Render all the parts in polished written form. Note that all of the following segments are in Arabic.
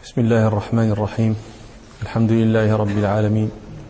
بسم الله الرحمن الرحيم. الحمد لله رب العالمين،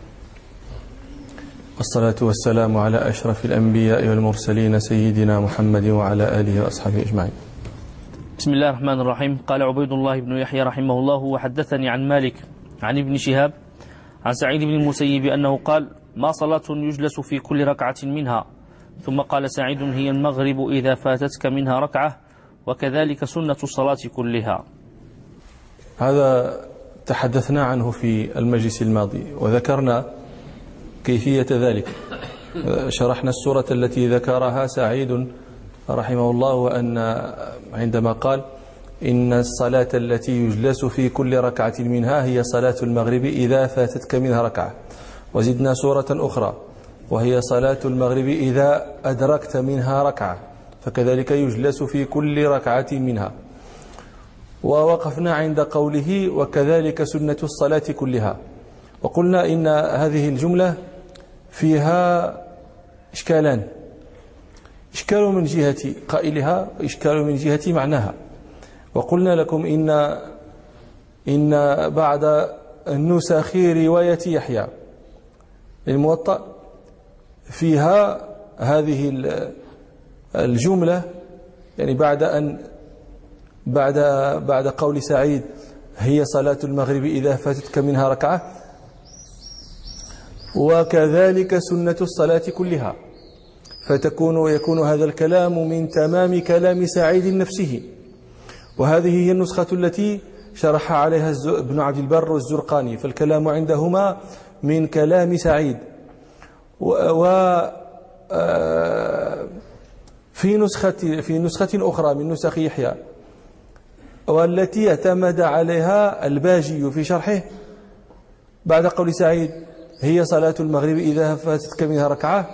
والصلاة والسلام على أشرف الأنبياء والمرسلين سيدنا محمد وعلى آله وأصحابه أجمعين. بسم الله الرحمن الرحيم. قال عبيد الله بن يحيى رحمه الله: وحدثني عن مالك عن ابن شهاب عن سعيد بن المسيب أنه قال: ما صلاة يجلس في كل ركعة منها. ثم قال سعيد: هي المغرب إذا فاتتك منها ركعة، وكذلك سنة الصلاة كلها. هذا تحدثنا عنه في المجلس الماضي وذكرنا كيفية ذلك. شرحنا السورة التي ذكرها سعيد رحمه الله، وأن عندما قال: إن الصلاة التي يجلس في كل ركعة منها هي صلاة المغرب إذا فاتتك منها ركعة. وزدنا سورة أخرى وهي صلاة المغرب إذا أدركت منها ركعة، فكذلك يجلس في كل ركعة منها. ووقفنا عند قوله: وكذلك سنة الصلاة كلها. وقلنا إن هذه الجملة فيها إشكالان: إشكال من جهة قائلها وإشكال من جهة معناها. وقلنا لكم إن بعد النسخ رواية يحيى الموطأ فيها هذه الجملة، يعني بعد قول سعيد: هي صلاة المغرب إذا فاتتك منها ركعة، وكذلك سنة الصلاة كلها، يكون هذا الكلام من تمام كلام سعيد نفسه. وهذه هي النسخة التي شرح عليها ابن عبد البر والزرقاني، فالكلام عندهما من كلام سعيد. في نسخة أخرى من نسخ يحيى، والتي اعتمد عليها الباجي في شرحه، بعد قول سعيد: هي صلاة المغرب إذا فاتتك منها ركعة،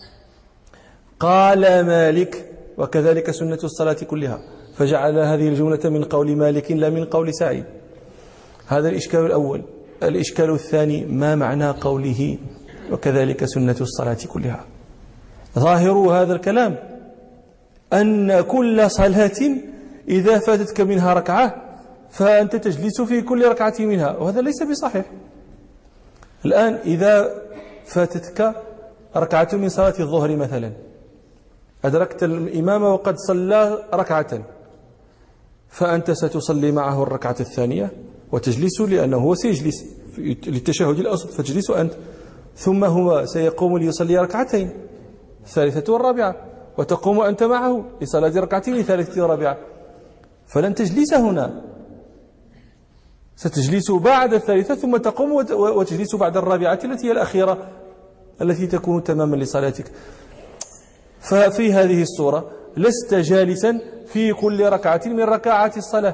قال مالك: وكذلك سنة الصلاة كلها، فجعل هذه الجملة من قول مالك لا من قول سعيد. هذا الإشكال الأول. الإشكال الثاني: ما معنى قوله وكذلك سنة الصلاة كلها؟ ظاهر هذا الكلام أن كل صلاة إذا فاتتك منها ركعة فأنت تجلس في كل ركعة منها، وهذا ليس بصحيح. الآن إذا فاتتك ركعة من صلاة الظهر مثلا، أدركت الإمام وقد صلى ركعة، فأنت ستصلي معه الركعة الثانية وتجلس، لأنه هو سيجلس للتشهد الأوسط، فتجلس أنت، ثم هو سيقوم ليصلي ركعتين، الثالثة والرابعة، وتقوم أنت معه لصلاة ركعتين الثالثة والرابعة. فلن تجلس هنا، ستجلس بعد الثالثة، ثم تقوم وتجلس بعد الرابعة التي هي الأخيرة التي تكون تماما لصلاتك. ففي هذه الصورة لست جالسا في كل ركعة من ركعات الصلاة.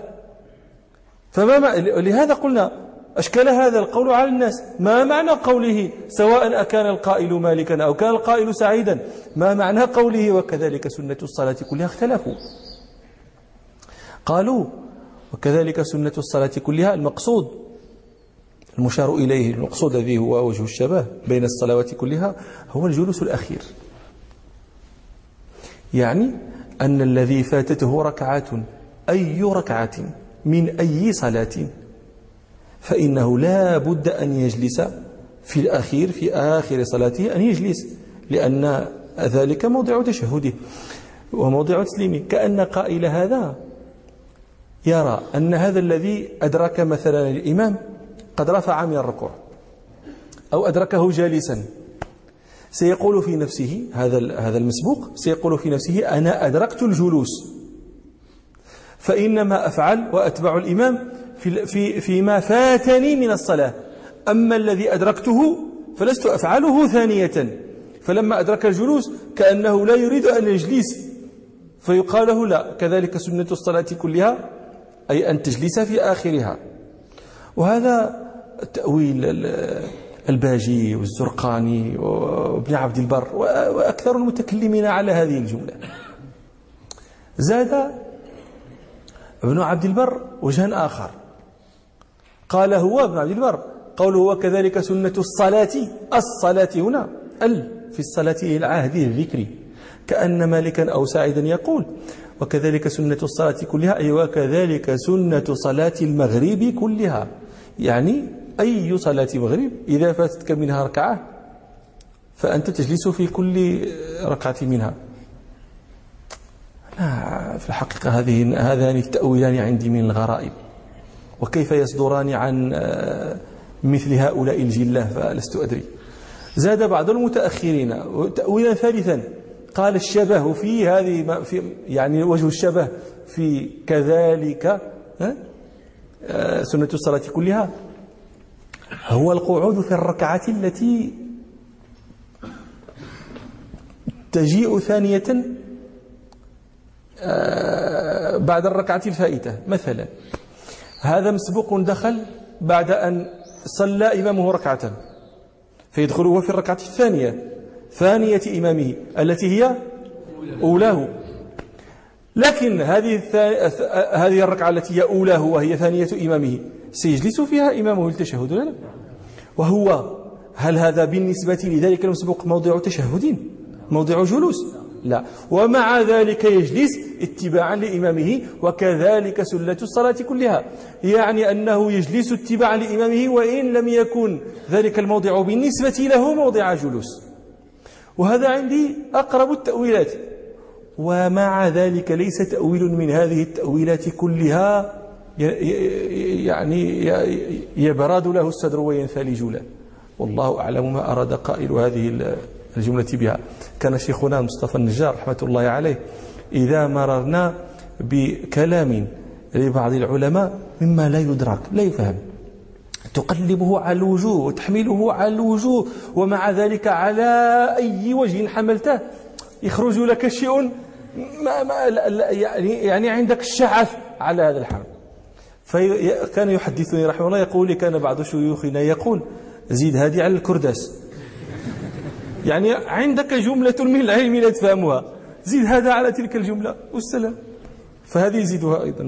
لهذا قلنا أشكال هذا القول على الناس. ما معنى قوله سواء أكان القائل مالكا أو كان القائل سعيدا؟ ما معنى قوله وكذلك سنة الصلاة كلها؟ اختلفوا. قالوا وكذلك سنة الصلاة كلها، المقصود المشار إليه، المقصود الذي هو وجه الشبه بين الصلوات كلها، هو الجلوس الأخير. يعني أن الذي فاتته ركعة، أي ركعة من أي صلاة، فإنه لا بد أن يجلس في الأخير، في آخر صلاته أن يجلس، لأن ذلك موضع تشهده وموضع تسليمه. كأن قائل هذا يرى أن هذا الذي أدرك مثلا الإمام قد رفع من الركوع أو أدركه جالسا، سيقول في نفسه، هذا المسبوق سيقول في نفسه: أنا أدركت الجلوس، فإنما أفعل وأتبع الإمام فيما فاتني من الصلاة، أما الذي أدركته فلست أفعله ثانية. فلما أدرك الجلوس كأنه لا يريد أن يجلس، فيقال له: لا، كذلك سنة الصلاة كلها، أي أن تجلس في آخرها. وهذا تأويل الباجي والزرقاني وابن عبد البر وأكثر المتكلمين على هذه الجملة. زاد ابن عبد البر وجها آخر، قال هو ابن عبد البر قوله وكذلك سنة الصلاة هنا في الصلاة العهد الذكري، كأن مالكا أو سعيدا يقول: وكذلك سنة الصلاة كلها، أي وكذلك سنة صلاة المغرب كلها. يعني أي صلاة مغرب إذا فاتتك منها ركعة فأنت تجلس في كل ركعة منها. لا، في الحقيقة هذان التأويلان عندي من الغرائب، وكيف يصدران عن مثل هؤلاء الجلة فلست أدري. زاد بعض المتأخرين تأويلا ثالثا، قال الشبه في هذه يعني وجه الشبه في كذلك سنة الصلاة كلها هو القعود في الركعة التي تجيء ثانية بعد الركعة الفائتة. مثلا هذا مسبوق دخل بعد أن صلى إمامه ركعة، فيدخل هو في الركعة ثانية إمامه التي هي أولاه، لكن هذه الركعة التي هي أولاه وهي ثانية إمامه سيجلس فيها إمامه التشهد لا؟ وهو هل هذا بالنسبة لذلك المسبوق موضع تشهد، موضع جلوس؟ لا، ومع ذلك يجلس اتباعا لإمامه. وكذلك سنة الصلاة كلها، يعني أنه يجلس اتباعا لإمامه وإن لم يكن ذلك الموضع بالنسبة له موضع جلوس. وهذا عندي أقرب التأويلات، ومع ذلك ليس تأويل من هذه التأويلات كلها يعني يبرد له الصدر وينثلج له. والله أعلم ما أراد قائل هذه الجملة بها. كان شيخنا مصطفى النجار رحمة الله عليه إذا مررنا بكلام لبعض العلماء مما لا يدرك لا يفهم، تقلبه على الوجوه وتحمله على الوجوه، ومع ذلك على أي وجه حملته يخرج لك شيء يعني عندك الشعث على هذا الحمل. فكان يحدثني رحمه الله يقول لي كان بعض شيوخنا يقول زيد هذه على الكرداس، يعني عندك جملة من العلم لا تفهمها زيد هذا على تلك الجملة والسلام، فهذه يزيدها أيضا.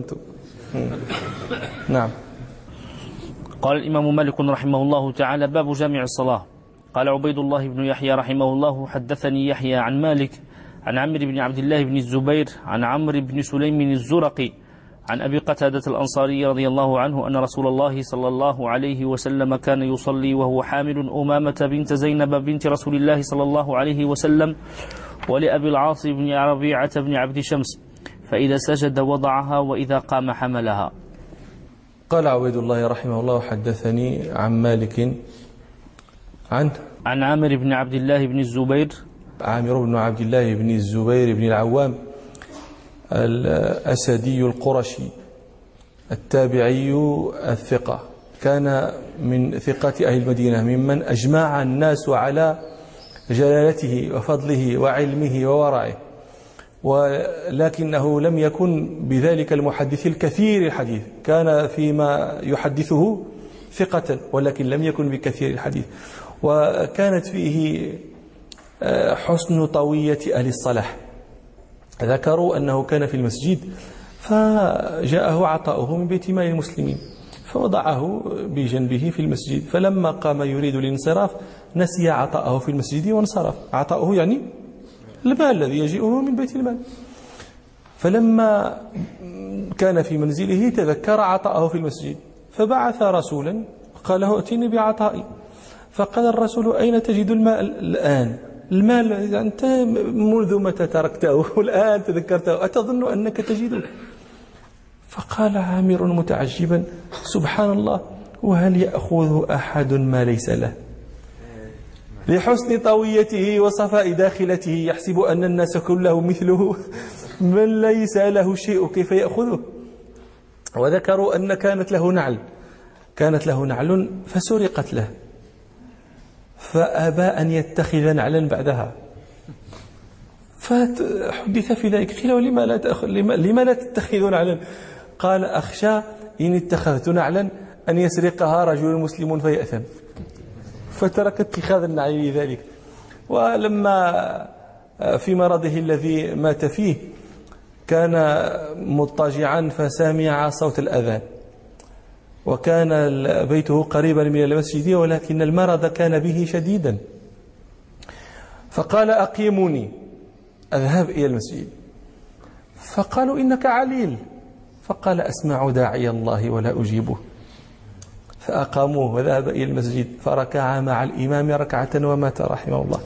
نعم. قال الإمام مالك رحمه الله تعالى: باب جامع الصلاة. قال عبيد الله بن يحيى رحمه الله: حدثني يحيى عن مالك عن عمرو بن عبد الله بن الزبير عن عمرو بن سليم الزرقي عن أبي قتادة الأنصاري رضي الله عنه أن رسول الله صلى الله عليه وسلم كان يصلي وهو حامل أمامة بنت زينب بنت رسول الله صلى الله عليه وسلم ولأبي العاص بن ربيعة بن عبد شمس، فإذا سجد وضعها وإذا قام حملها. قال عبيد الله رحمه الله: حدثني عن مالك عن عامر بن عبد الله بن الزبير، عامر بن عبد الله بن الزبير بن العوام الأسدي القرشي التابعي الثقة، كان من ثقات أهل المدينة، ممن أجمع الناس على جلالته وفضله وعلمه وورعه، ولكنه لم يكن بذلك المحدث الكثير الحديث، كان فيما يحدثه ثقة ولكن لم يكن بكثير الحديث. وكانت فيه حسن طوية أهل الصلاح. ذكروا أنه كان في المسجد فجاءه عطاؤه من بيت مال المسلمين فوضعه بجنبه في المسجد، فلما قام يريد الانصراف نسي عطاءه في المسجد وانصرف. عطاؤه يعني المال الذي يجيئه من بيت المال. فلما كان في منزله تذكر عطاءه في المسجد فبعث رسولا قال له: ائتني بعطائي. فقال الرسول: أين تجد المال الآن؟ المال أنت منذ متى تركته والآن تذكرته، أتظن أنك تجده؟ فقال عامر متعجبا: سبحان الله، وهل يأخذ أحد ما ليس له؟ لحسن طويته وصفاء داخلته يحسب أن الناس كله مثله، من ليس له شيء كيف يأخذه؟ وذكروا أن كانت له نعل فسرقت له، فأبى أن يتخذ نعلا بعدها، فحدث في ذلك. قيل: لما لا تتخذ نعلا؟ قال: أخشى إن اتخذت نعلا أن يسرقها رجل مسلم فيأثم، فترك اتخاذ النعل لذلك. ولما في مرضه الذي مات فيه كان مضطجعا فسمع صوت الأذان، وكان بيته قريبا من المسجد ولكن المرض كان به شديدا، فقال: أقيموني أذهب إلى المسجد. فقالوا إنك عليل، فقال أسمع داعي الله ولا أجيبه، فأقاموه وذهب إلى المسجد فركع مع الإمام ركعة ومات رحمه الله.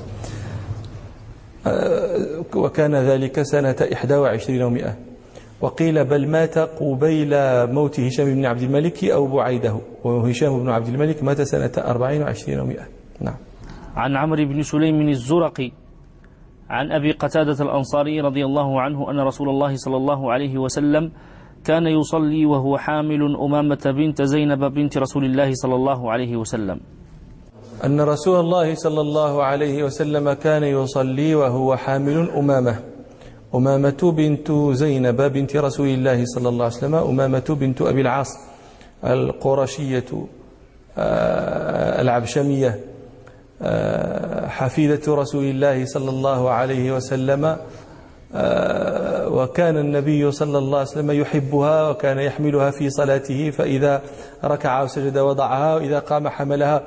وكان ذلك سنة 21 و100، وقيل بل مات قبيل موت هشام بن عبد الملك أو بعيده، وهشام بن عبد الملك مات سنة 24 و100. نعم. عن عمرو بن سليم الزرقي عن أبي قتادة الأنصاري رضي الله عنه أن رسول الله صلى الله عليه وسلم كان يصلي وهو حامل أمامة بنت زينب بنت رسول الله صلى الله عليه وسلم. أن رسول الله صلى الله عليه وسلم كان يصلي وهو حامل أمامة بنت زينب بنت رسول الله صلى الله عليه وسلم، أمامة بنت أبي العاص القرشية العبشمية حفيدة رسول الله صلى الله عليه وسلم، وكان النبي صلى الله عليه وسلم يحبها وكان يحملها في صلاته، فإذا ركع وسجد وضعها وإذا قام حملها.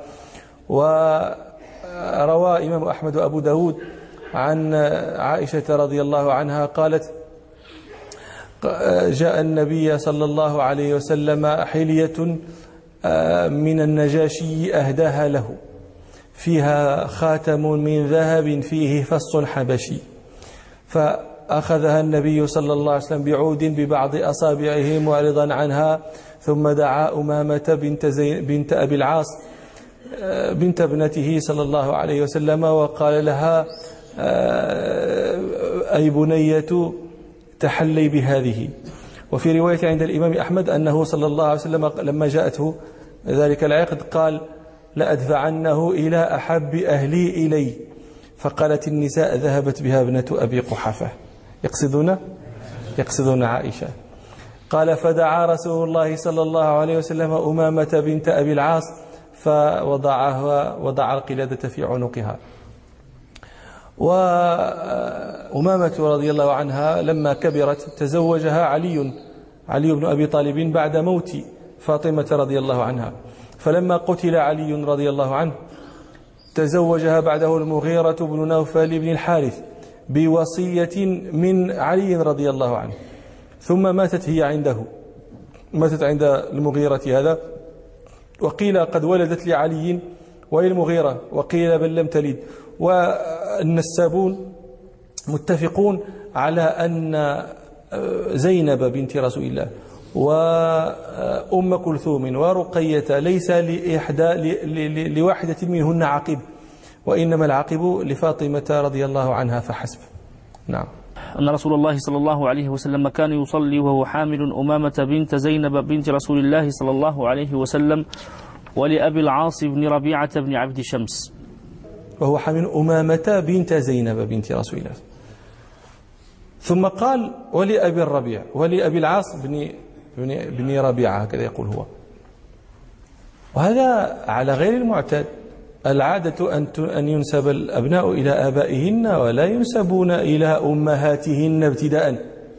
وروى إمام أحمد وأبو داود عن عائشة رضي الله عنها قالت جاء النبي صلى الله عليه وسلم حلية من النجاشي أهداها له فيها خاتم من ذهب فيه فص حبشي، فأخذها النبي صلى الله عليه وسلم بعود ببعض أصابعه معرضا عنها، ثم دعا أمامة بنت أبي العاص بنت ابنته صلى الله عليه وسلم وقال لها أي بنية تحلي بهذه. وفي رواية عند الإمام أحمد أنه صلى الله عليه وسلم لما جاءته ذلك العقد قال لأدفعنه إلى أحب أهلي إلي، فقالت النساء ذهبت بها ابنة أبي قحافة، يقصدون عائشة. قال فدعا رسول الله صلى الله عليه وسلم أمامة بنت أبي العاص وضع القلادة في عنقها. وأمامة رضي الله عنها لما كبرت تزوجها علي بن أبي طالب بعد موت فاطمة رضي الله عنها، فلما قتل علي رضي الله عنه تزوجها بعده المغيرة بن نوفل بن الحارث بوصية من علي رضي الله عنه، ثم ماتت هي عنده، ماتت عند المغيرة هذا، وقيل قد ولدت لعلي وللمغيرة، وقيل بل لم تلد. والنسابون متفقون على أن زينب بنت رسول الله وأم كلثوم ورقية ليس لواحدة منهن عقب، وإنما العقب لفاطمة رضي الله عنها فحسب. نعم. أن رسول الله صلى الله عليه وسلم كان يصلي وهو حامل أمامة بنت زينب بنت رسول الله صلى الله عليه وسلم ولأبي العاص بن ربيعة بن عبد شمس، وهو حامل أمامة بنت زينب بنت رسول الله، ثم قال ولأبي الربيع ولأبي العاص بن ربيعة، هكذا يقول هو. وهذا على غير المعتاد، العادة أن ينسب الأبناء إلى آبائهن ولا ينسبون إلى أمهاتهن ابتداء.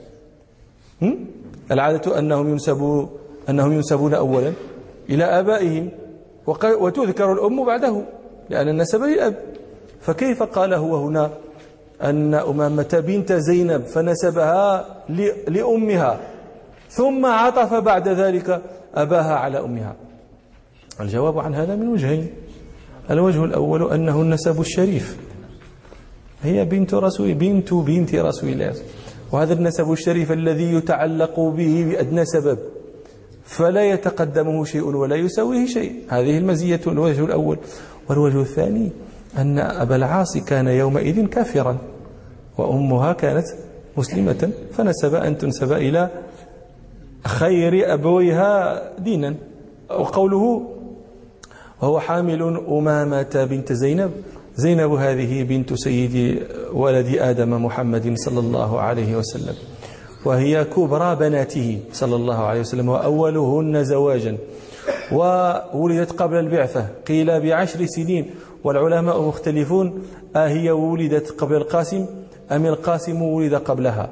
العادة أنهم ينسبون أولا إلى آبائهم وتذكر الأم بعده لأن النسب للأب. فكيف قال هو هنا أن أمامة بنت زينب فنسبها لأمها ثم عطف بعد ذلك أباها على أمها؟ الجواب عن هذا من وجهين. الوجه الأول أنه النسب الشريف، هي بنت رسول الله، وهذا النسب الشريف الذي يتعلق به بأدنى سبب فلا يتقدمه شيء ولا يساويه شيء. هذه المزية الوجه الأول. والوجه الثاني أن أبا العاص كان يومئذ كافرا وأمها كانت مسلمة، فنسب أن تنسب إلى خير أبويها دينا. وقوله وهو حامل أمامة بنت زينب هذه بنت سيد ولد آدم محمد صلى الله عليه وسلم، وهي كبرى بناته صلى الله عليه وسلم وأولهن زواجا، وولدت قبل البعثة قيل ب10 سنين، والعلماء مختلفون هي ولدت قبل القاسم أم القاسم ولد قبلها.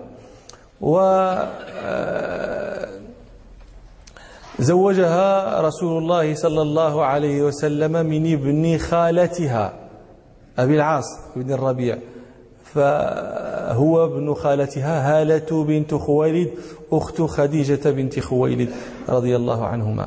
زوجها رسول الله صلى الله عليه وسلم من ابن خالتها أبي العاص بن الربيع، هو ابن خالتها هالة بنت خويلد أخت خديجة بنت خويلد رضي الله عنهما.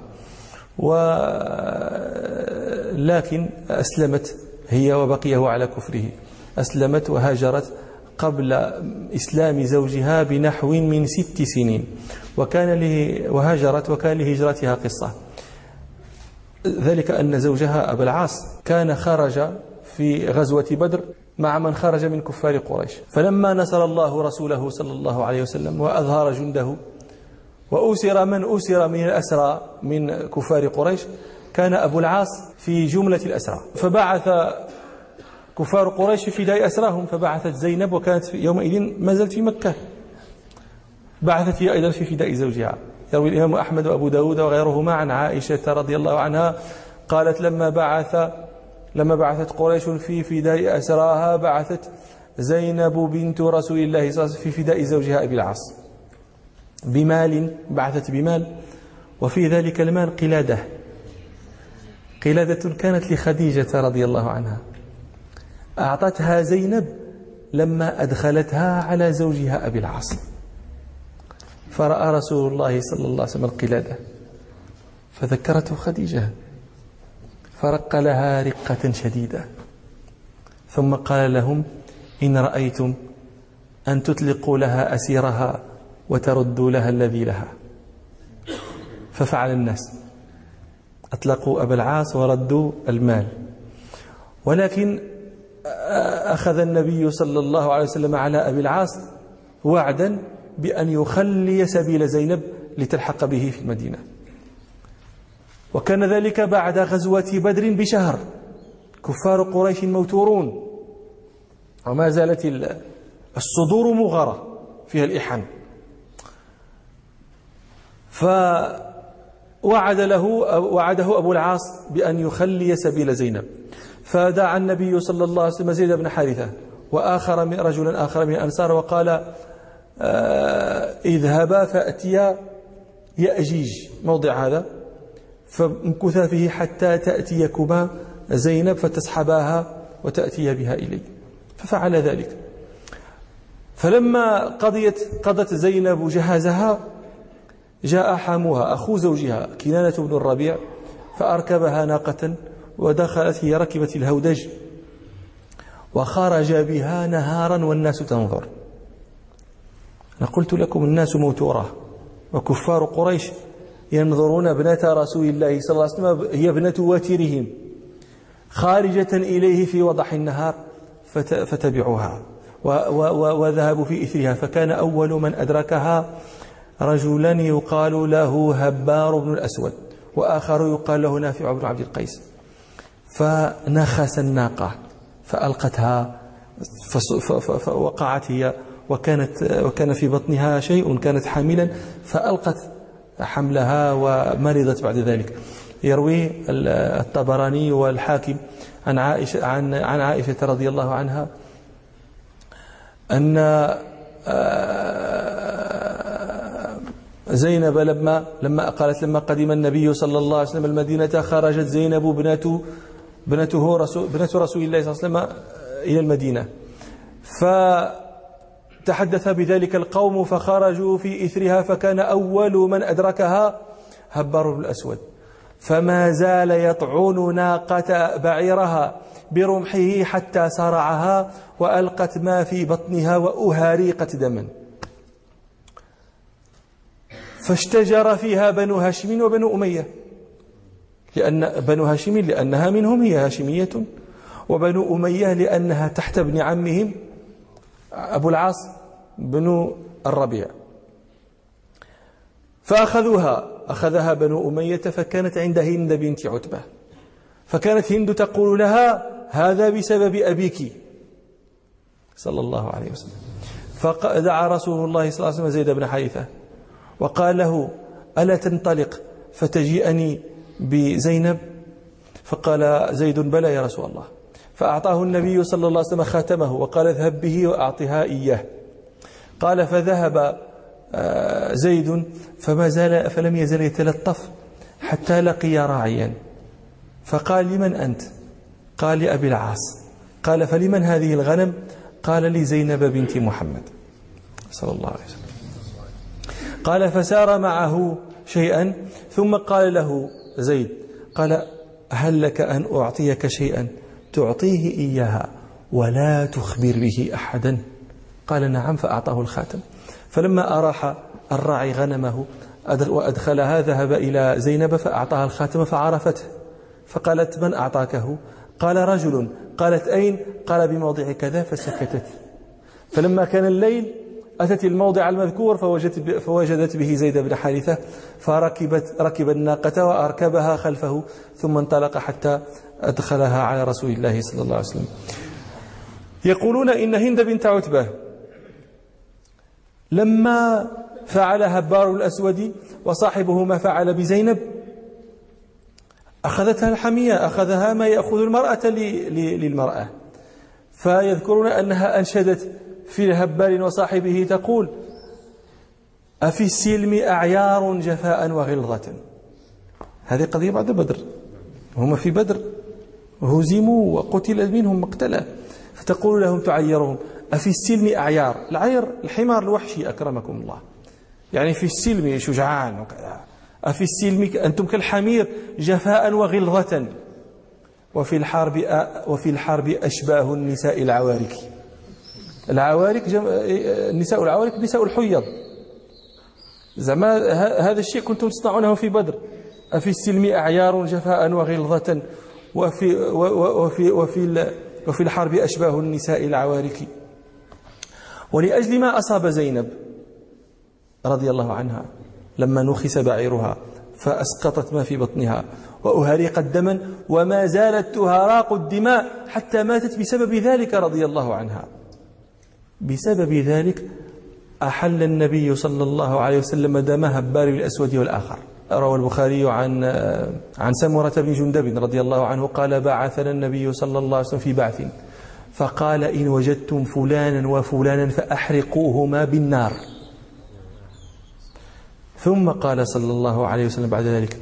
ولكن أسلمت هي وبقيه على كفره، أسلمت وهاجرت قبل إسلام زوجها بنحو من 6 سنين، وهاجرت وكان لهجرتها قصة، ذلك أن زوجها أبا العاص كان خرج في غزوة بدر مع من خرج من كفار قريش، فلما نصر الله رسوله صلى الله عليه وسلم وأظهر جنده وأسر من أسر من الأسرى من كفار قريش، كان أبو العاص في جملة الأسرى، فبعث كفار قريش في فداء أسراهم، فبعثت زينب وكانت يومئذ ما زالت في مكة، بعثت هي أيضا في فداء زوجها. يروي الإمام أحمد وأبو داود وغيرهما عن عائشة رضي الله عنها قالت لما بعثت قريش في فداء أسراها بعثت زينب بنت رسول الله صلى الله عليه وسلم في فداء زوجها أبي العاص بمال، بعثت بمال، وفي ذلك المال قلادة كانت لخديجة رضي الله عنها، أعطتها زينب لما أدخلتها على زوجها أبي العاص، فرأى رسول الله صلى الله عليه وسلم القلادة فذكرته خديجة، فرق لها رقة شديدة، ثم قال لهم: إن رأيتم أن تطلقوا لها أسيرها وتردوا لها الذي لها. ففعل الناس، أطلقوا أبا العاص وردوا المال، ولكن أخذ النبي صلى الله عليه وسلم على أبي العاص وعدا بأن يخلي سبيل زينب لتلحق به في المدينة، وكان ذلك بعد غزوة بدر بشهر، كفار قريش موتورون وما زالت الصدور مغرة فيها الإحن، وعده أبو العاص بأن يخلي سبيل زينب، فدعا النبي صلى الله عليه وسلم زيد بن حارثة رجلا آخر من الأنصار وقال: اذهبا فأتيا يأجيج، موضع هذا، فامكثا فيه حتى تأتيكما زينب فتسحباها وتأتي بها إلي. ففعل ذلك، فلما قضت زينب جهازها جاء حاموها أخو زوجها كنانة بن الربيع فأركبها ناقة ودخلت، هي ركبت الهودج وخرج بها نهارا والناس تنظر. أنا قلت لكم الناس موتورة، وكفار قريش ينظرون ابنة رسول الله صلى الله عليه وسلم، هي ابنة واترهم، خارجة إليه في وضح النهار، فتبعوها وذهبوا في إثرها، فكان أول من أدركها رجلا يقال له هبار بن الأسود، وآخر يقال له نافع بن عبد القيس، فنخس الناقة فألقتها فوقعت هي، وكان في بطنها شيء، كانت حاملا، فألقت حملها ومرضت بعد ذلك. يروي الطبراني والحاكم عن عائشة رضي الله عنها أن زينب لما قدم النبي صلى الله عليه وسلم المدينة، خرجت زينب بنت رسول الله صلى الله عليه وسلم إلى المدينة، فتحدث بذلك القوم فخرجوا في إثرها، فكان أول من أدركها هبار بن الأسود، فما زال يطعن ناقة بعيرها برمحه حتى صرعها وألقت ما في بطنها وأهاريقت دما، فاشتجر فيها بنو هاشم وبنو أمية، لأن بنو هاشم لأنها منهم هي هاشمية، وبنو أمية لأنها تحت ابن عمهم أبو العاص بن الربيع، أخذها بنو أمية، فكانت عند هند بنت عتبة، فكانت هند تقول لها: هذا بسبب أبيك صلى الله عليه وسلم. فدعا رسول الله صلى الله عليه وسلم زيد بن حارثة وقال له: ألا تنطلق فتجيئني بزينب؟ فقال زيد: بلى يا رسول الله. فأعطاه النبي صلى الله عليه وسلم خاتمه وقال: اذهب به وأعطها إياه. قال: فذهب زيد فلم يزل يتلطف حتى لقي راعيا، فقال: لمن أنت؟ قال: لأبي العاص. قال: فلمن هذه الغنم؟ قال لزينب بنت محمد صلى الله عليه وسلم. قال فسار معه شيئا ثم قال له زيد قال هل لك أن أعطيك شيئا تعطيه إياها ولا تخبر به أحدا؟ قال نعم، فأعطاه الخاتم. فلما أراح الراعي غنمه وأدخلها ذهب إلى زينب فأعطاها الخاتم فعرفته، فقالت من أعطاكه؟ قال رجل. قالت أين؟ قال بموضع كذا، فسكتت. فلما كان الليل أتت الموضع المذكور فوجدت به زيد بن حارثة، فركب الناقة وأركبها خلفه ثم انطلق حتى أدخلها على رسول الله صلى الله عليه وسلم. يقولون إن هند بنت عتبة لما فعل هبار الأسود وصاحبه ما فعل بزينب أخذتها الحمية، أخذها ما يأخذ المرأة للمرأة، فيذكرون أنها أنشدت في هبار وصاحبه تقول أفي السلم أعيار جفاء وغلظة. هذه قضية بعد بدر، هم في بدر هزموا وقتل منهم مقتلا، فتقول لهم تعيرهم أفي السلم أعيار. العير الحمار الوحشي أكرمكم الله، يعني في السلم شجعان وكذا. أفي السلم أنتم كالحمير جفاء وغلظة، وفي الحرب أشباه النساء العوارك. العوارك النساء العوارك نساء الحيض، زعما هذا الشيء كنتم تصنعونه في بدر. أفي السلم أعيار جفاء وغلظة وفي الحرب أشباه النساء العوارك. ولأجل ما أصاب زينب رضي الله عنها لما نخس بعيرها فأسقطت ما في بطنها وأهرقت دما وما زالت تهراق الدماء حتى ماتت بسبب ذلك رضي الله عنها. بسبب ذلك أحل النبي صلى الله عليه وسلم دم هبار الأسود والآخر. روى البخاري عن سمرة بن جندب رضي الله عنه قال بعثنا النبي صلى الله عليه وسلم في بعث فقال إن وجدتم فلانا وفلانا فأحرقوهما بالنار. ثم قال صلى الله عليه وسلم بعد ذلك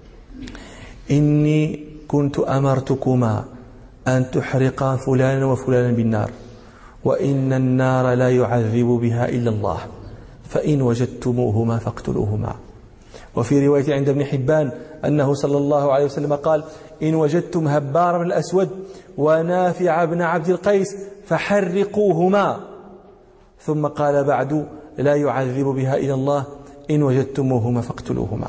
إني كنت أمرتكما أن تحرقا فلانا وفلانا بالنار وإن النار لا يعذب بها إلا الله فإن وجدتموهما فاقتلوهما. وفي رواية عند ابن حبان أنه صلى الله عليه وسلم قال إن وجدتم هبار بن الأسود ونافع بن عبد القيس فحرقوهما. ثم قال بعد لا يعذب بها إلا الله إن وجدتموهما فاقتلوهما.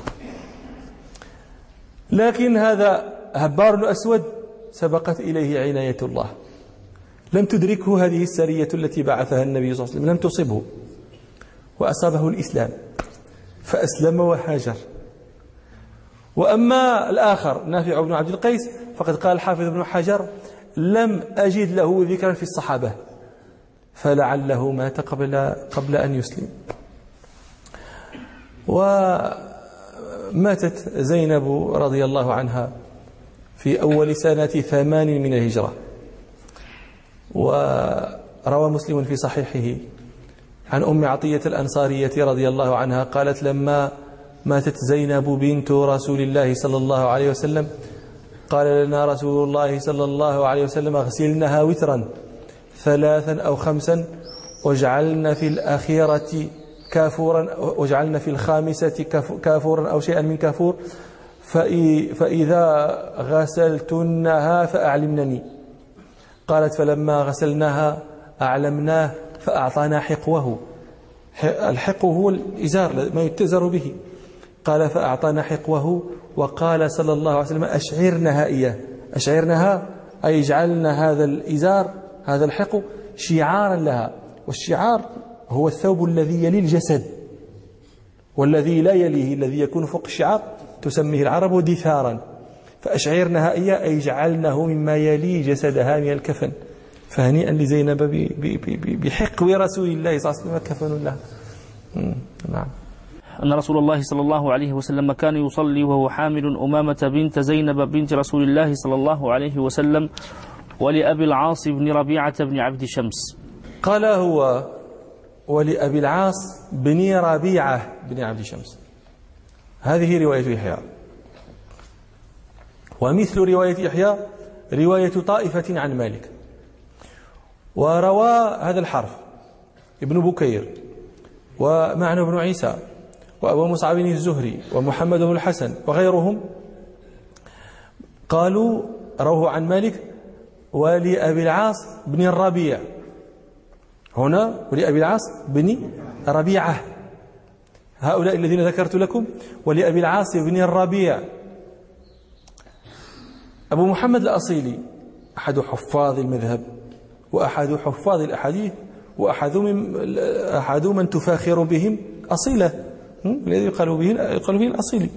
لكن هذا هبار الأسود سبقت إليه عناية الله، لم تدركه هذه السرية التي بعثها النبي صلى الله عليه وسلم، لم تصبه، وأصابه الإسلام فأسلم وهاجر. وأما الآخر نافع بن عبد القيس فقد قال الحافظ ابن حجر لم أجد له ذكرا في الصحابة فلعله مات قبل أن يسلم. وماتت زينب رضي الله عنها في أول سنة 8 من الهجرة. وروى مسلم في صحيحه عن أم عطية الأنصارية رضي الله عنها قالت لما ماتت زينب بنت رسول الله صلى الله عليه وسلم قال لنا رسول الله صلى الله عليه وسلم اغسلنها وترا 3 أو 5 واجعلن في الأخيرة كافورا واجعلن في الخامسة كافورا أو شيئا من كافور فإذا غسلتنها فأعلمنني. قالت فلما غسلناها أعلمناه فأعطانا حقوه. الحقو هو الإزار ما يتزر به. قال فأعطانا حقوه وقال صلى الله عليه وسلم أشعرنها إياه. أشعرنها أي جعلنا هذا الإزار هذا الحقو شعارا لها، والشعار هو الثوب الذي يلي الجسد والذي لا يليه الذي يكون فوق الشعار تسميه العرب دثارا. فأشعرنها إياه أي جعلناه مما يلي جسدها من الكفن. فهنيئا لزينب بحقو رسول الله صلى الله عليه وسلم كفن لها. نعم. أن رسول الله صلى الله عليه وسلم كان يصلي وهو حامل أمامة بنت زينب بنت رسول الله صلى الله عليه وسلم ولأبي العاص بن ربيعة بن عبد شمس. قال هو ولأبي العاص بن ربيعة بن عبد شمس. هذه رواية يحيى. ومثل رواية يحيى رواية طائفة عن مالك. وروى هذا الحرف ابن بكير ومعنى بن عيسى وأبو مصعب الزهري ومحمد بن الحسن وغيرهم، قالوا روه عن مالك ولأبي العاص بن الربيع، هنا ولأبي العاص بن ربيعة، هؤلاء الذين ذكرت لكم ولأبي العاص بن الربيع. أبو محمد الأصيلي أحد حفاظ المذهب وأحد حفاظ الأحاديث وأحد من تفاخر بهم أصيلة، الذي يقال به الأصيلي،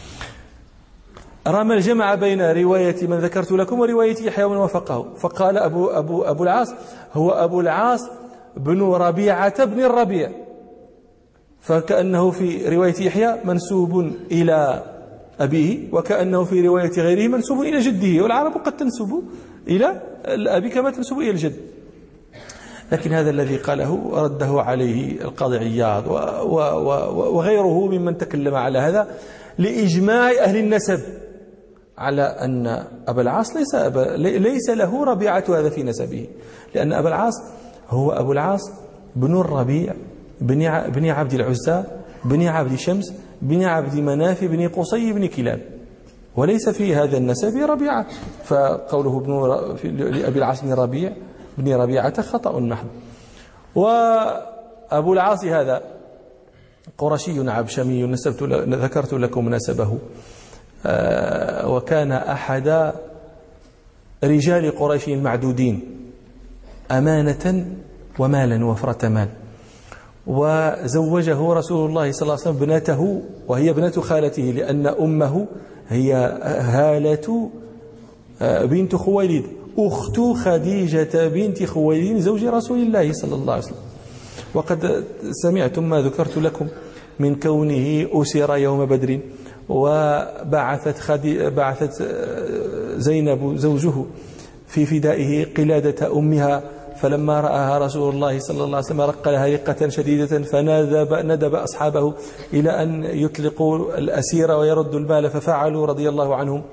رمى الجمع بين رواية من ذكرت لكم ورواية يحيى ومن وافقه، فقال أبو العاص هو أبو العاص بن ربيعة بن الربيع، فكأنه في رواية يحيى منسوب إلى أبيه، وكأنه في رواية غيره منسوب إلى جده، والعرب قد تنسب إلى الأب كما تنسب إلى الجد. لكن هذا الذي قاله رده عليه القاضي عياض وغيره ممن تكلم على هذا لإجماع أهل النسب على أن أبا العاص ليس له ربيعة هذا في نسبه، لأن أبا العاص هو أبو العاص بن الربيع بن عبد العزى بن عبد شمس بن عبد مناف بن قصي بن كلاب، وليس في هذا النسب ربيعة، فقوله لأبي العاص بن ربيعة خطأ محض. وأبو العاص هذا قرشي عبشمي ذكرت لكم نسبه، وكان أحد رجال قريش المعدودين أمانة ومالا وفرة مال، وزوجه رسول الله صلى الله عليه وسلم ابنته وهي ابنة خالته، لأن أمه هي هالة بنت خويلد أخت خديجة بنت خويلد زوج رسول الله صلى الله عليه وسلم. وقد سمعتم ما ذكرت لكم من كونه أسر يوم بدر، وبعثت زينب زوجه في فدائه قلادة أمها، فلما رآها رسول الله صلى الله عليه وسلم رق لها رقة شديدة، فندب أصحابه إلى أن يطلقوا الأسير ويردوا المال، ففعلوا رضي الله عنهم،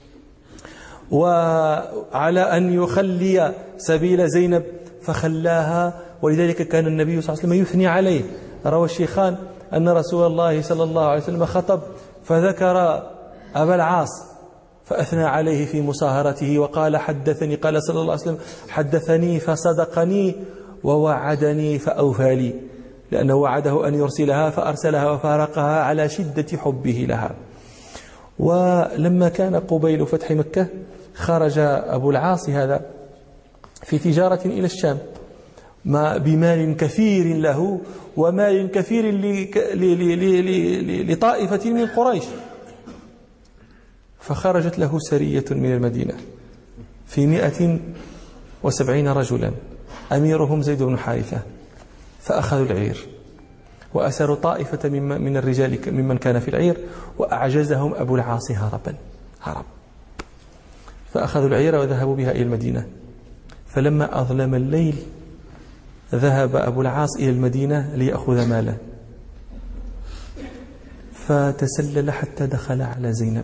وعلى أن يخلي سبيل زينب فخلاها، ولذلك كان النبي صلى الله عليه وسلم يثني عليه. روى الشيخان أن رسول الله صلى الله عليه وسلم خطب فذكر أبا العاص فأثنى عليه في مصاهرته وقال حدثني، قال صلى الله عليه وسلم حدثني فصدقني ووعدني فأوفى لي، لأنه وعده أن يرسلها فأرسلها وفارقها على شدة حبه لها. ولما كان قبيل فتح مكة خرج أبو العاص هذا في تجارة إلى الشام بمال كثير له ومال كثير لطائفة من قريش، فخرجت له سرية من المدينة في 170 رجلا أميرهم زيد بن حارثة، فأخذوا العير وأسروا طائفة من الرجال ممن كان في العير، وأعجزهم أبو العاص هرب، فأخذوا العير وذهبوا بها إلى المدينة. فلما أظلم الليل ذهب أبو العاص إلى المدينة ليأخذ ماله، فتسلل حتى دخل على زينب.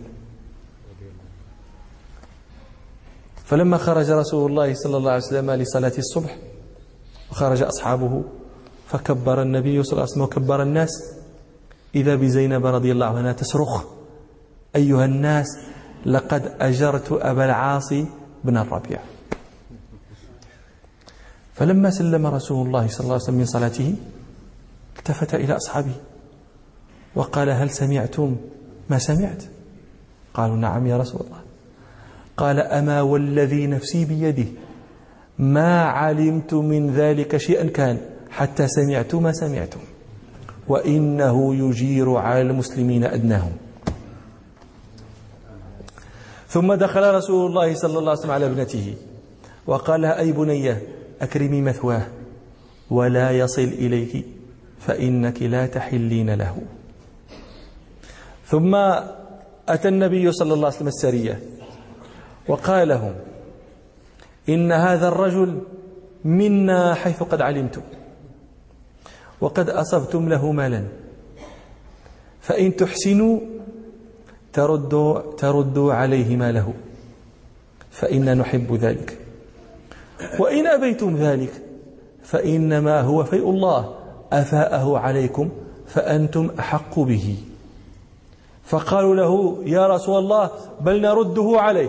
فلما خرج رسول الله صلى الله عليه وسلم لصلاة الصبح وخرج أصحابه فكبر النبي صلى الله عليه وسلم وكبر الناس، إذا بزينب رضي الله عنها تصرخ أيها الناس لقد أجرت أبا العاص بن الربيع. فلما سلم رسول الله صلى الله عليه وسلم من صلاته التفت إلى أصحابه وقال هل سمعتم ما سمعت؟ قالوا نعم يا رسول الله. قال أما والذي نفسي بيده ما علمت من ذلك شيئا كان حتى سمعت ما سمعتم، وإنه يجير على المسلمين أدناهم. ثم دخل رسول الله صلى الله عليه وسلم على ابنته وقال لها أي بنية أكرمي مثواه ولا يصل إليك فإنك لا تحلين له. ثم أتى النبي صلى الله عليه وسلم السرية وقال لهم إن هذا الرجل منا حيث قد علمتم، وقد أصبتم له مالا، فإن تحسنوا تردوا عليه ماله، فإنا نحب ذلك، وإن أبيتم ذلك فإنما هو فيء الله أفاءه عليكم فأنتم أحق به. فقالوا له يا رسول الله بل نرده عليه،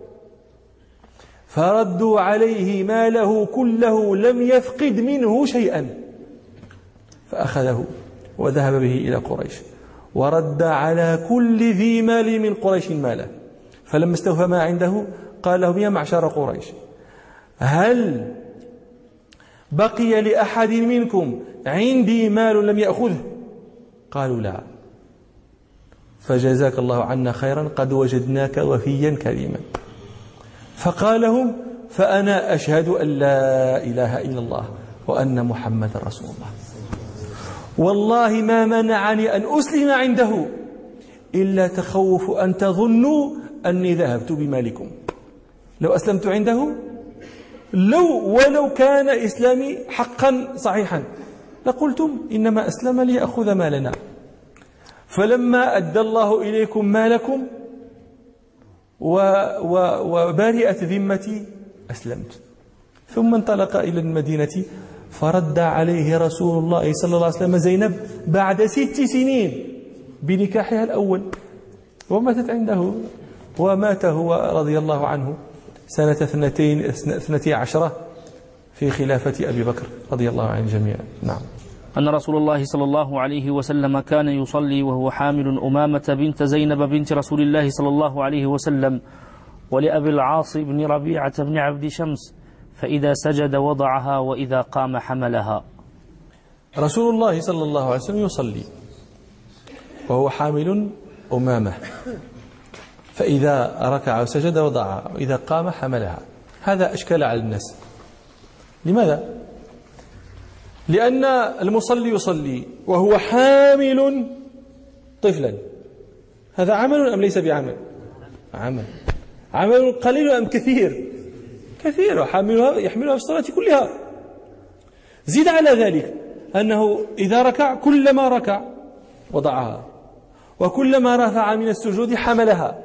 فردوا عليه ماله كله لم يفقد منه شيئا، فأخذه وذهب به إلى قريش ورد على كل ذي مال من قريش ماله. فلما استوفى ما عنده قال لهم يا معشر قريش هل بقي لأحد منكم عندي مال لم يأخذه؟ قالوا لا. فجزاك الله عنا خيرا قد وجدناك وفيا كريما. فقال لهم فأنا أشهد أن لا إله إلا الله وأن محمد رسول الله، والله ما منعني أن أسلم عنده إلا تخوف أن تظنوا أني ذهبت بمالكم. لو أسلمت عنده ولو كان إسلامي حقا صحيحا لقلتم إنما أسلم ليأخذ مالنا، فلما أدى الله إليكم مالكم وبارئت ذمتي أسلمت. ثم انطلق إلى المدينة فرد عليه رسول الله صلى الله عليه وسلم زينب بعد 6 سنين بنكاحها الأول، وماتت عنده، ومات هو رضي الله عنه سنة 12 في خلافة أبي بكر رضي الله عن الجميع. نعم. أن رسول الله صلى الله عليه وسلم كان يصلي وهو حامل أمامة بنت زينب بنت رسول الله صلى الله عليه وسلم ولأبي العاص بن ربيعة بن عبد شمس، فإذا سجد وضعها وإذا قام حملها. رسول الله صلى الله عليه وسلم يصلي وهو حامل أمامة، فإذا ركع وسجد وضعها وإذا قام حملها. هذا أشكال على الناس. لماذا؟ لأن المصلي يصلي وهو حامل طفلا، هذا عمل أم ليس بعمل؟ عمل قليل أم كثير؟ كثير، يحملها في الصلاة كلها. زيد على ذلك أنه إذا ركع كلما ركع وضعها، وكلما رفع من السجود حملها،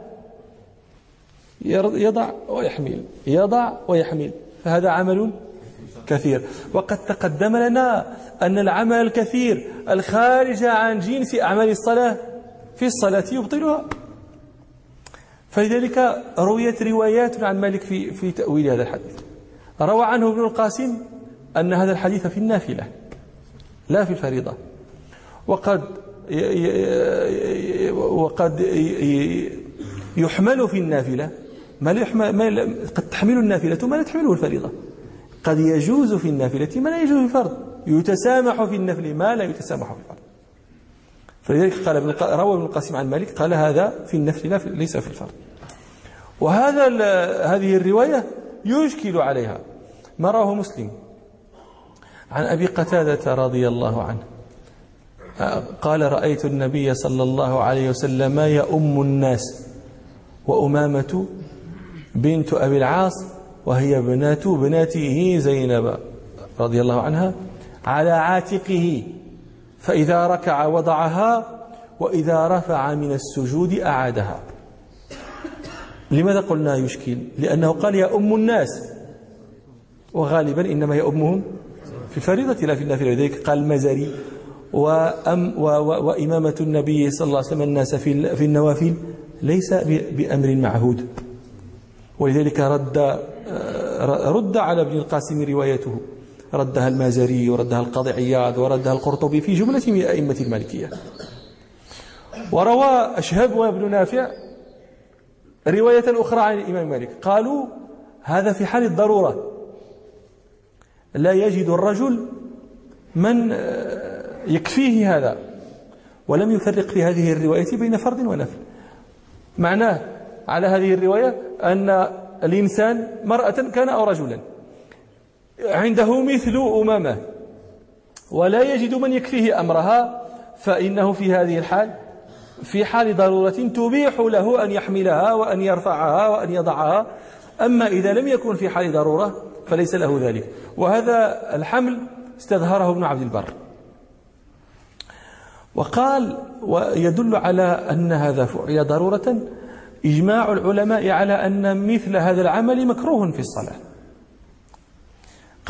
يضع ويحمل يضع ويحمل، فهذا عمل كثير. وقد تقدم لنا أن العمل الكثير الخارج عن جنس أعمال الصلاة في الصلاة يبطلها. فلذلك رويت روايات عن مالك في تأويل هذا الحديث. روى عنه ابن القاسم أن هذا الحديث في النافلة لا في الفريضة، وقد يحمل في النافلة قد تحمل النافلة ما لا تحمله الفريضة، قد يجوز في النافلة ما لا يجوز في الفرض، يتسامح في النفل ما لا يتسامح في الفرض. فلذلك روى ابن القاسم عن مالك قال هذا في النفل ليس في الفرض. هذه الرواية يشكل عليها ما رواه مسلم عن أبي قتادة رضي الله عنه قال رأيت النبي صلى الله عليه وسلم يؤم الناس وأمامة بنت أبي العاص وهي ابنته زينب رضي الله عنها على عاتقه، فإذا ركع وضعها وإذا رفع من السجود أعادها. لماذا قلنا يشكل؟ لأنه قال يؤم الناس، وغالبا إنما يؤمهم في الفريضة لا في النافلة. لذلك قال المزري وإمامة النبي صلى الله عليه وسلم الناس في النوافل ليس بأمر معهود. ولذلك رد على ابن القاسم روايته، ردها المازري وردها القاضي عياض وردها القرطبي في جملة من أئمة المالكية. وروى أشهب وابن نافع رواية أخرى عن الإمام مالك قالوا هذا في حال الضرورة، لا يجد الرجل من يكفيه هذا، ولم يفرق في هذه الرواية بين فرض ونفل. معناه على هذه الرواية أن الإنسان مرأة كان أو رجلا عنده مثل أمامة ولا يجد من يكفيه أمرها، فإنه في هذه الحال في حال ضرورة تبيح له أن يحملها وأن يرفعها وأن يضعها. أما إذا لم يكن في حال ضرورة فليس له ذلك. وهذا الحمل استظهره ابن عبد البر وقال ويدل على أن هذا فعل ضرورة إجماع العلماء على أن مثل هذا العمل مكروه في الصلاة،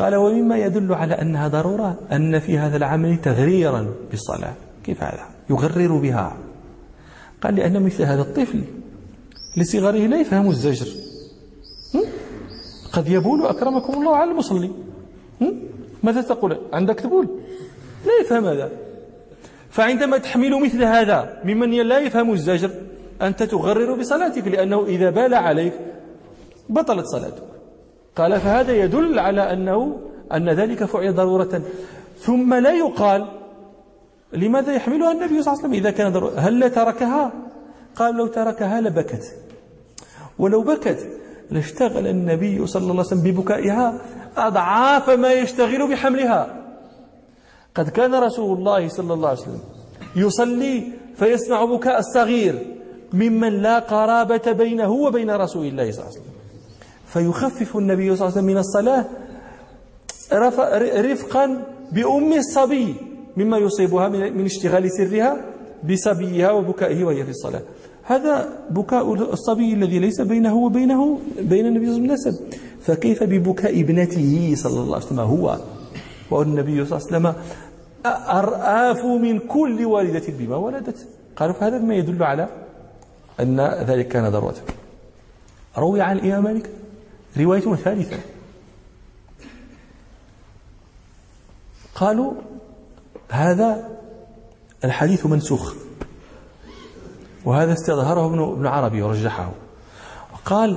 قال ومما يدل على أنها ضرورة أن في هذا العمل تغريرا بالصلاة. كيف هذا؟ يغرر بها. قال لأن مثل هذا الطفل لصغره لا يفهم الزجر، قد يبول أكرمكم الله على المصلي، ماذا تقول؟ عندك تبول؟ لا يفهم هذا. فعندما تحمل مثل هذا ممن لا يفهم الزجر أنت تغرر بصلاتك، لأنه إذا بال عليك بطلت صلاتك. قال فهذا يدل على أن ذلك فعل ضرورة. ثم لا يقال لماذا يحملها النبي صلى الله عليه وسلم إذا كان ضرورة؟ هل لا تركها؟ قال لو تركها لبكت، ولو بكت لاشتغل النبي صلى الله عليه وسلم ببكائها أضعاف ما يشتغل بحملها. قد كان رسول الله صلى الله عليه وسلم يصلي فيسمع بكاء الصغير ممن لا قرابة بينه وبين رسول الله صلى الله عليه وسلم، فيخفف النبي صلى الله عليه وسلم من الصلاة رفقا بأم الصبي مما يصيبها من اشتغال سرها بصبيها وبكائه وهي في الصلاة. هذا بكاء الصبي الذي ليس بينه وبين النبي صلى الله عليه وسلم نسب، فكيف ببكاء ابنته صلى الله عليه وسلم هو والنبي صلى الله عليه وسلم أرآف من كل والدة بما ولدت. قالوا فهذا ما يدل على أن ذلك كان ضرورة. روي عن الإمام مالك رواية ثالثة، قالوا هذا الحديث منسوخ، وهذا استظهره ابن عربي ورجحه، وقال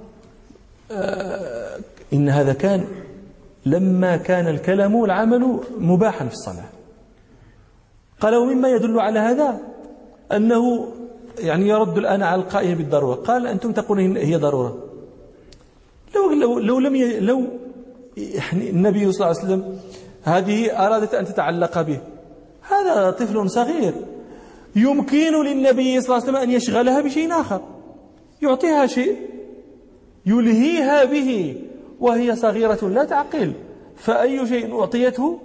إن هذا كان لما كان الكلام والعمل مباحا في الصلاة. قال ومما يدل على هذا أنه يعني يرد الآن على القائل بالضرورة. قال أنتم تقولون هي ضرورة، لو يعني النبي صلى الله عليه وسلم هذه أرادت أن تتعلق به، هذا طفل صغير يمكن للنبي صلى الله عليه وسلم أن يشغلها بشيء آخر، يعطيها شيء يلهيها به وهي صغيرة لا تعقل، فأي شيء أعطيته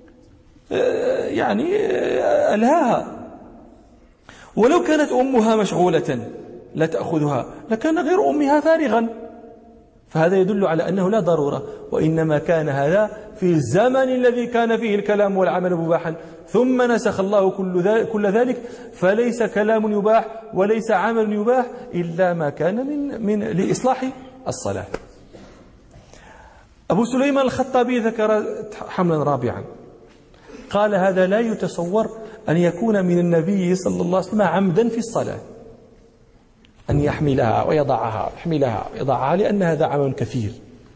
يعني ألهاها. ولو كانت أمها مشغولة لا تأخذها لكان غير أمها فارغا. فهذا يدل على أنه لا ضرورة، وإنما كان هذا في الزمن الذي كان فيه الكلام والعمل مباحا، ثم نسخ الله كل ذلك، فليس كلام يباح وليس عمل يباح إلا ما كان من لإصلاح الصلاة. أبو سليمان الخطابي ذكر حملا رابعا، قال هذا لا يتصور أن يكون من النبي صلى الله عليه وسلم عمدا في الصلاة، أن يحملها ويضعها، يحملها ويضعها، لأن هذا عمل كثير.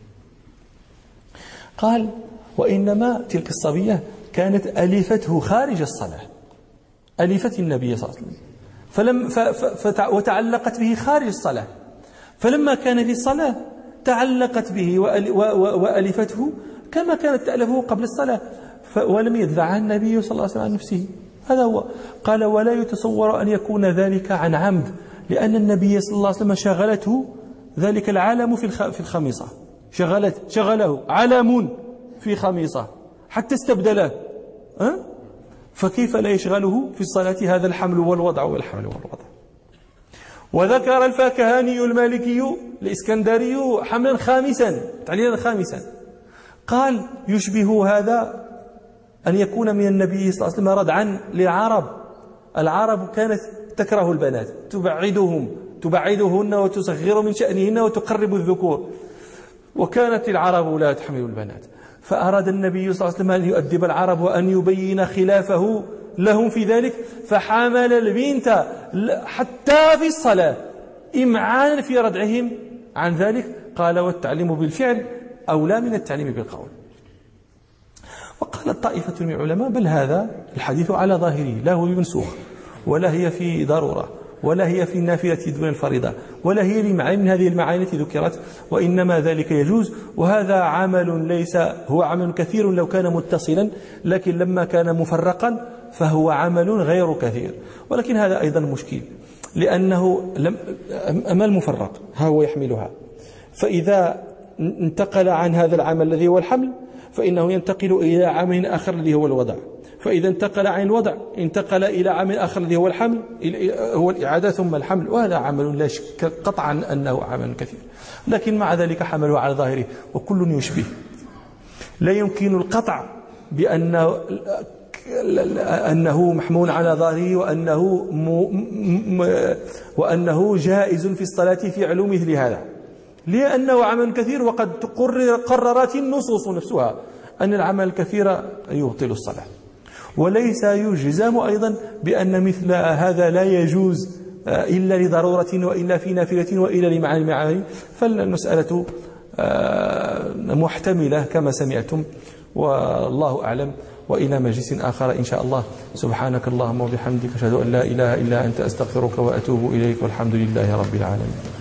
قال وإنما تلك الصبية كانت ألفته خارج الصلاة، ألفت النبي صلى الله عليه وسلم وتعلقت به خارج الصلاة، فلما كان في الصلاة تعلقت به وألفته كما كانت تألفه قبل الصلاة، ولم يدفعها النبي صلى الله عليه وسلم عن نفسه. هذا هو. قال ولا يتصور أن يكون ذلك عن عمد، لأن النبي صلى الله عليه وسلم شغلته ذلك العالم في الخميصة، شغله علم في خميصة حتى استبدله، فكيف لا يشغله في الصلاة هذا الحمل والوضع والحمل والوضع. وذكر الفاكهاني المالكي الإسكندري حملا خامسا، تعليلا خامسا، قال يشبه هذا أن يكون من النبي صلى الله عليه وسلم ردعا للعرب. العرب كانت تكره البنات، تبعدهن وتصغر من شأنهن وتقرب الذكور، وكانت العرب لا تحمل البنات، فأراد النبي صلى الله عليه وسلم أن يؤدب العرب وأن يبين خلافه لهم في ذلك، فحمل البنت حتى في الصلاة إمعانا في ردعهم عن ذلك. قال والتعليم بالفعل أولى من التعليم بالقول. وقال طائفة من العلماء بل هذا الحديث على ظاهره لا هو بمنسوخ، ولا هي في ضرورة، ولا هي في النافلة دون الفريضة، ولا هي بمعنى من هذه المعاني التي ذكرت، وإنما ذلك يجوز. وهذا عمل ليس هو عمل كثير لو كان متصلا، لكن لما كان مفرقا فهو عمل غير كثير. ولكن هذا أيضا مشكل، لأنه أما المفرق ها هو يحملها، فإذا انتقل عن هذا العمل الذي هو الحمل فإنه ينتقل إلى عمل آخر الذي هو الوضع، فإذا انتقل عن الوضع انتقل إلى عمل آخر الذي هو الحمل، هو الإعادة ثم الحمل، وهذا عمل لا شك قطعا أنه عمل كثير، لكن مع ذلك حمله على ظاهره وكل يشبه. لا يمكن القطع أنه محمول على ظاهره وأنه جائز في الصلاة في علو مثل هذا، لأنه عمل كثير، وقد قررت النصوص نفسها أن العمل الكثير يبطل الصلاة. وليس يجزم أيضا بأن مثل هذا لا يجوز إلا لضرورة وإلا في نافلة وإلا لمعاني المعاني. فالمسألة محتملة كما سمعتم، والله أعلم. وإلى مجلس آخر إن شاء الله. سبحانك اللهم وبحمدك أشهد أن لا إله إلا أنت أستغفرك وأتوب إليك، والحمد لله رب العالمين.